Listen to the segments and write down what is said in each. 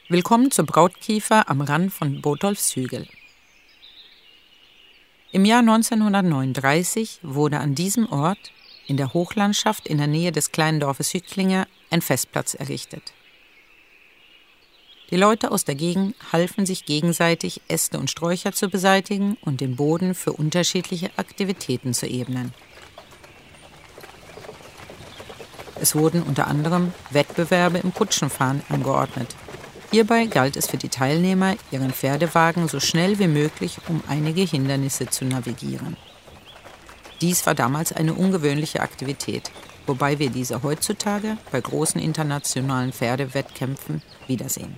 Willkommen zur Brautkiefer am Rand von Botolfshügel. Im Jahr 1939 wurde an diesem Ort, in der Hochlandschaft in der Nähe des kleinen Dorfes Hücklinge, ein Festplatz errichtet. Die Leute aus der Gegend halfen sich gegenseitig, Äste und Sträucher zu beseitigen und den Boden für unterschiedliche Aktivitäten zu ebnen. Es wurden unter anderem Wettbewerbe im Kutschenfahren angeordnet. Hierbei galt es für die Teilnehmer, ihren Pferdewagen so schnell wie möglich um einige Hindernisse zu navigieren. Dies war damals eine ungewöhnliche Aktivität, wobei wir diese heutzutage bei großen internationalen Pferdewettkämpfen wiedersehen.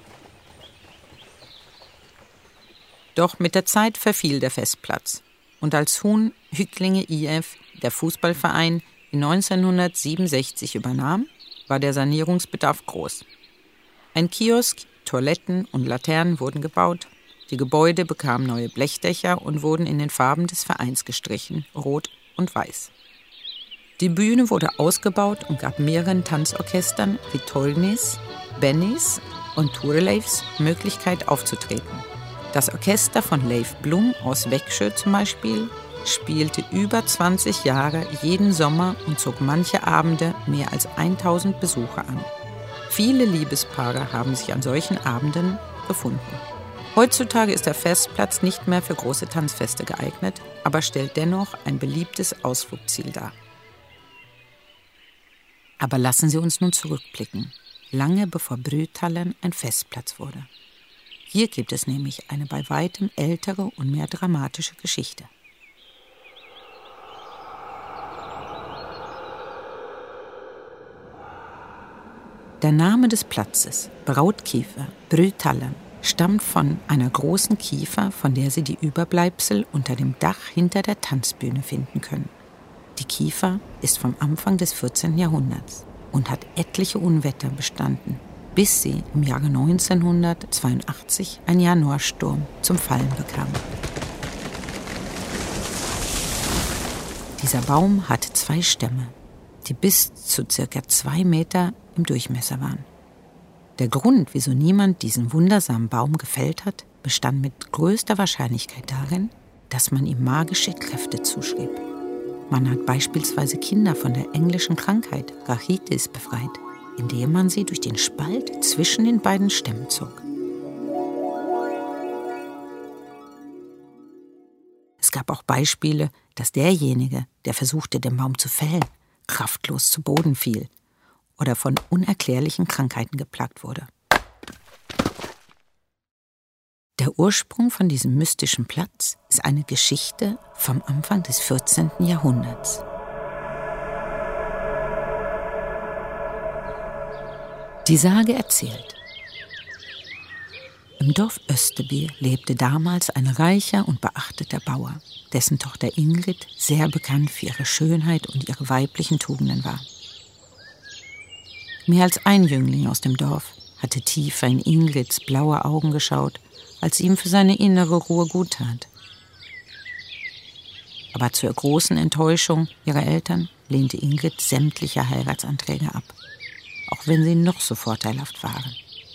Doch mit der Zeit verfiel der Festplatz und als Huhn Hücklinge IF, der Fußballverein, in 1967 übernahm, war der Sanierungsbedarf groß. Ein Kiosk, Toiletten und Laternen wurden gebaut, die Gebäude bekamen neue Blechdächer und wurden in den Farben des Vereins gestrichen, rot und weiß. Die Bühne wurde ausgebaut und gab mehreren Tanzorchestern wie Tolnis, Bennys und Thorleifs Möglichkeit aufzutreten. Das Orchester von Leif Blum aus Växjö zum Beispiel spielte über 20 Jahre jeden Sommer und zog manche Abende mehr als 1000 Besucher an. Viele Liebespaare haben sich an solchen Abenden gefunden. Heutzutage ist der Festplatz nicht mehr für große Tanzfeste geeignet, aber stellt dennoch ein beliebtes Ausflugsziel dar. Aber lassen Sie uns nun zurückblicken, lange bevor Brüthallen ein Festplatz wurde. Hier gibt es nämlich eine bei weitem ältere und mehr dramatische Geschichte. Der Name des Platzes, Brautkiefer, Brüthallen, stammt von einer großen Kiefer, von der Sie die Überbleibsel unter dem Dach hinter der Tanzbühne finden können. Die Kiefer ist vom Anfang des 14. Jahrhunderts und hat etliche Unwetter bestanden, bis sie im Jahre 1982 ein Januarsturm zum Fallen bekam. Dieser Baum hatte 2 Stämme, die bis zu ca. 2 Meter im Durchmesser waren. Der Grund, wieso niemand diesen wundersamen Baum gefällt hat, bestand mit größter Wahrscheinlichkeit darin, dass man ihm magische Kräfte zuschrieb. Man hat beispielsweise Kinder von der englischen Krankheit Rachitis befreit, indem man sie durch den Spalt zwischen den beiden Stämmen zog. Es gab auch Beispiele, dass derjenige, der versuchte, den Baum zu fällen, kraftlos zu Boden fiel oder von unerklärlichen Krankheiten geplagt wurde. Der Ursprung von diesem mystischen Platz ist eine Geschichte vom Anfang des 14. Jahrhunderts. Die Sage erzählt: Im Dorf Österby lebte damals ein reicher und beachteter Bauer, dessen Tochter Ingrid sehr bekannt für ihre Schönheit und ihre weiblichen Tugenden war. Mehr als ein Jüngling aus dem Dorf hatte tiefer in Ingrids blaue Augen geschaut, als ihm für seine innere Ruhe gut tat. Aber zur großen Enttäuschung ihrer Eltern lehnte Ingrid sämtliche Heiratsanträge ab, auch wenn sie noch so vorteilhaft waren.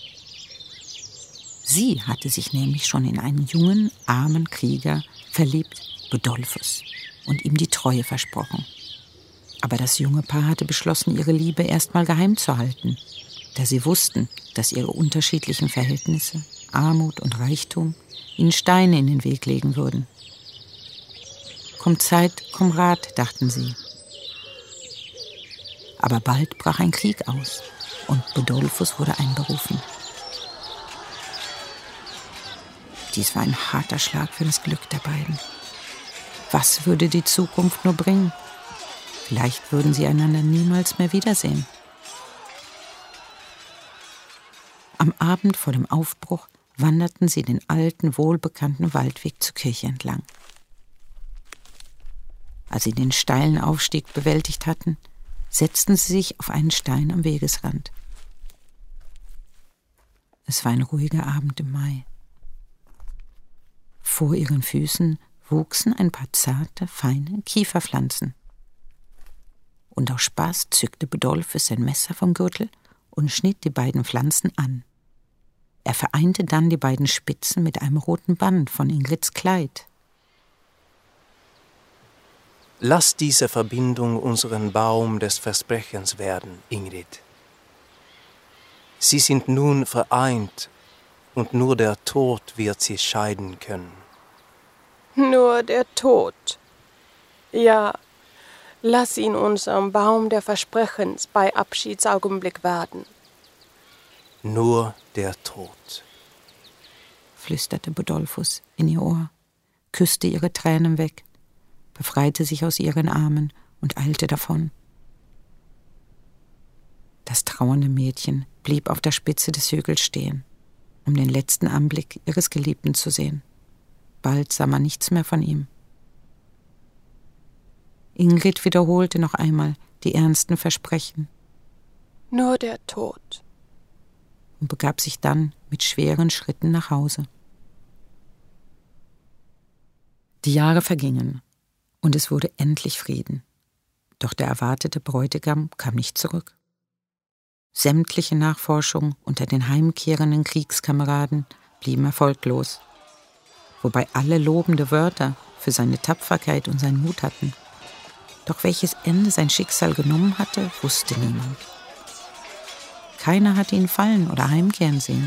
Sie hatte sich nämlich schon in einen jungen, armen Krieger verliebt, Bodolphus, und ihm die Treue versprochen. Aber das junge Paar hatte beschlossen, ihre Liebe erstmal geheim zu halten, da sie wussten, dass ihre unterschiedlichen Verhältnisse, Armut und Reichtum, ihnen Steine in den Weg legen würden. Kommt Zeit, komm Rat, dachten sie. Aber bald brach ein Krieg aus und Bodolphus wurde einberufen. Dies war ein harter Schlag für das Glück der beiden. Was würde die Zukunft nur bringen? Vielleicht würden sie einander niemals mehr wiedersehen. Am Abend vor dem Aufbruch wanderten sie den alten, wohlbekannten Waldweg zur Kirche entlang. Als sie den steilen Aufstieg bewältigt hatten, setzten sie sich auf einen Stein am Wegesrand. Es war ein ruhiger Abend im Mai. Vor ihren Füßen wuchsen ein paar zarte, feine Kieferpflanzen. Und aus Spaß zückte Bodolphus sein Messer vom Gürtel und schnitt die beiden Pflanzen an. Er vereinte dann die beiden Spitzen mit einem roten Band von Ingrids Kleid. Lass diese Verbindung unseren Baum des Versprechens werden, Ingrid. Sie sind nun vereint und nur der Tod wird sie scheiden können. Nur der Tod. Ja, lass ihn unserem Baum der Versprechens bei Abschiedsaugenblick werden. Nur der Tod, flüsterte Bodolphus in ihr Ohr, küsste ihre Tränen weg, befreite sich aus ihren Armen und eilte davon. Das trauernde Mädchen blieb auf der Spitze des Hügels stehen, um den letzten Anblick ihres Geliebten zu sehen. Bald sah man nichts mehr von ihm. Ingrid wiederholte noch einmal die ernsten Versprechen. Nur der Tod. Und begab sich dann mit schweren Schritten nach Hause. Die Jahre vergingen und es wurde endlich Frieden. Doch der erwartete Bräutigam kam nicht zurück. Sämtliche Nachforschungen unter den heimkehrenden Kriegskameraden blieben erfolglos, wobei alle lobende Wörter für seine Tapferkeit und seinen Mut hatten. Doch welches Ende sein Schicksal genommen hatte, wusste niemand. Keiner hatte ihn fallen oder heimkehren sehen.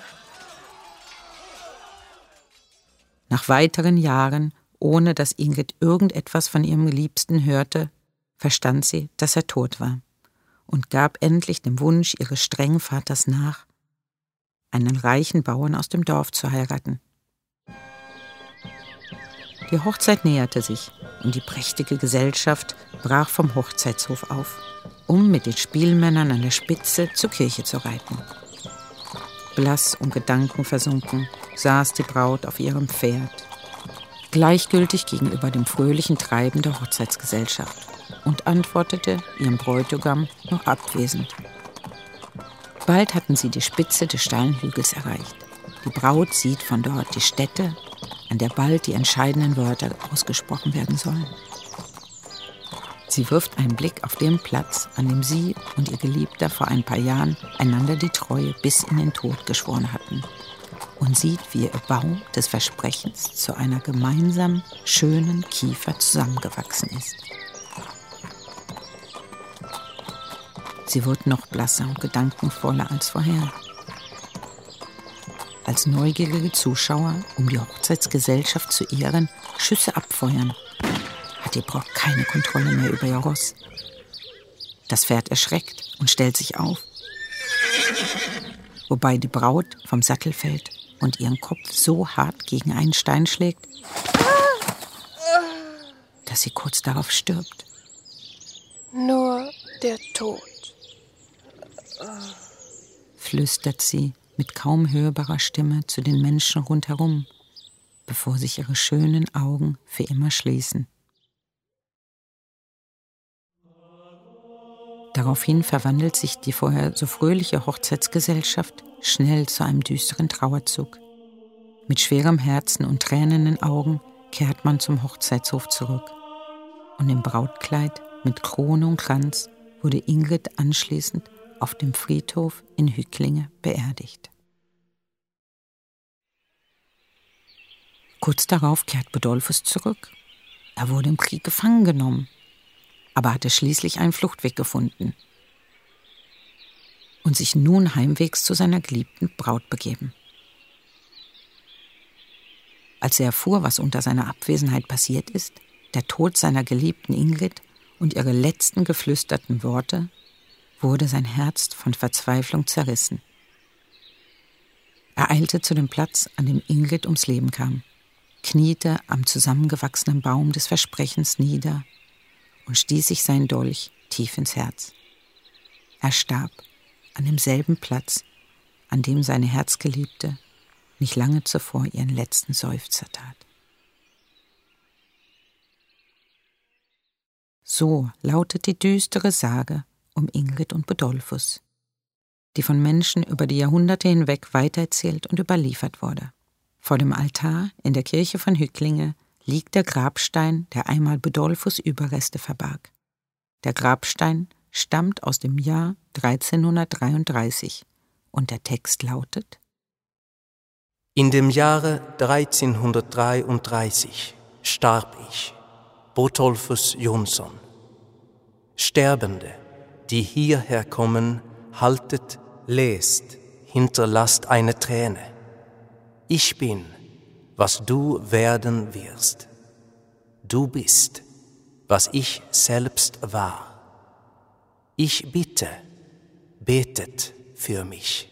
Nach weiteren Jahren, ohne dass Ingrid irgendetwas von ihrem Liebsten hörte, verstand sie, dass er tot war und gab endlich dem Wunsch ihres strengen Vaters nach, einen reichen Bauern aus dem Dorf zu heiraten. Die Hochzeit näherte sich und die prächtige Gesellschaft brach vom Hochzeitshof auf, um mit den Spielmännern an der Spitze zur Kirche zu reiten. Blass und gedankenversunken saß die Braut auf ihrem Pferd, gleichgültig gegenüber dem fröhlichen Treiben der Hochzeitsgesellschaft, und antwortete ihrem Bräutigam noch abwesend. Bald hatten sie die Spitze des steilen Hügels erreicht. Die Braut sieht von dort die Stätte, an der bald die entscheidenden Wörter ausgesprochen werden sollen. Sie wirft einen Blick auf den Platz, an dem sie und ihr Geliebter vor ein paar Jahren einander die Treue bis in den Tod geschworen hatten, und sieht, wie ihr Baum des Versprechens zu einer gemeinsamen, schönen Kiefer zusammengewachsen ist. Sie wird noch blasser und gedankenvoller als vorher. Als neugierige Zuschauer, um die Hochzeitsgesellschaft zu ehren, Schüsse abfeuern, hat die Braut keine Kontrolle mehr über ihr Ross. Das Pferd erschreckt und stellt sich auf, wobei die Braut vom Sattel fällt und ihren Kopf so hart gegen einen Stein schlägt, dass sie kurz darauf stirbt. Nur der Tod, flüstert sie mit kaum hörbarer Stimme zu den Menschen rundherum, bevor sich ihre schönen Augen für immer schließen. Daraufhin verwandelt sich die vorher so fröhliche Hochzeitsgesellschaft schnell zu einem düsteren Trauerzug. Mit schwerem Herzen und tränenden Augen kehrt man zum Hochzeitshof zurück. Und im Brautkleid mit Krone und Kranz wurde Ingrid anschließend auf dem Friedhof in Hücklinge beerdigt. Kurz darauf kehrt Bodolphus zurück. Er wurde im Krieg gefangen genommen, aber hatte schließlich einen Fluchtweg gefunden und sich nun heimwegs zu seiner geliebten Braut begeben. Als er erfuhr, was unter seiner Abwesenheit passiert ist, der Tod seiner geliebten Ingrid und ihre letzten geflüsterten Worte, wurde sein Herz von Verzweiflung zerrissen. Er eilte zu dem Platz, an dem Ingrid ums Leben kam, kniete am zusammengewachsenen Baum des Versprechens nieder und stieß sich seinen Dolch tief ins Herz. Er starb an demselben Platz, an dem seine Herzgeliebte nicht lange zuvor ihren letzten Seufzer tat. So lautet die düstere Sage um Ingrid und Bodolphus, die von Menschen über die Jahrhunderte hinweg weitererzählt und überliefert wurde. Vor dem Altar in der Kirche von Hücklinge liegt der Grabstein, der einmal Bodolphus' Überreste verbarg. Der Grabstein stammt aus dem Jahr 1333 und der Text lautet: In dem Jahre 1333 starb ich, Botolphus Jonsson. Sterbende, die hierher kommen, haltet, lest, hinterlasst eine Träne. Ich bin, was du werden wirst. Du bist, was ich selbst war. Ich bitte, betet für mich.